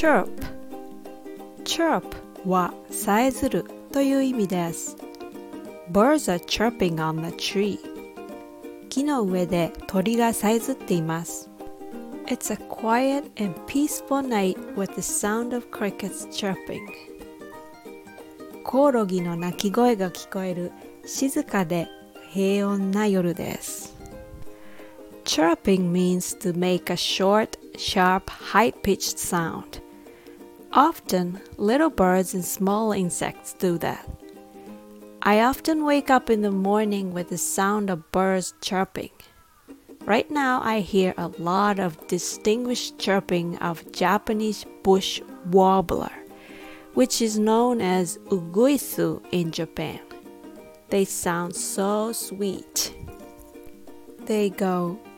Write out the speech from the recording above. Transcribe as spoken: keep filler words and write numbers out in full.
chirp chirp はさえずるという意味です。Birds are chirping on the tree. 木の上で鳥がさえずっています。It's a quiet and peaceful night with the sound of crickets chirping. コオロギの鳴き声が聞こえる静かで平穏な夜です。Chirping means to make a short, sharp, high-pitched sound. Often, little birds and small insects do that. I often wake up in the morning with the sound of birds chirping. Right now, I hear a lot of distinguished chirping of Japanese bush warbler, which is known as uguisu in Japan. They sound so sweet. They go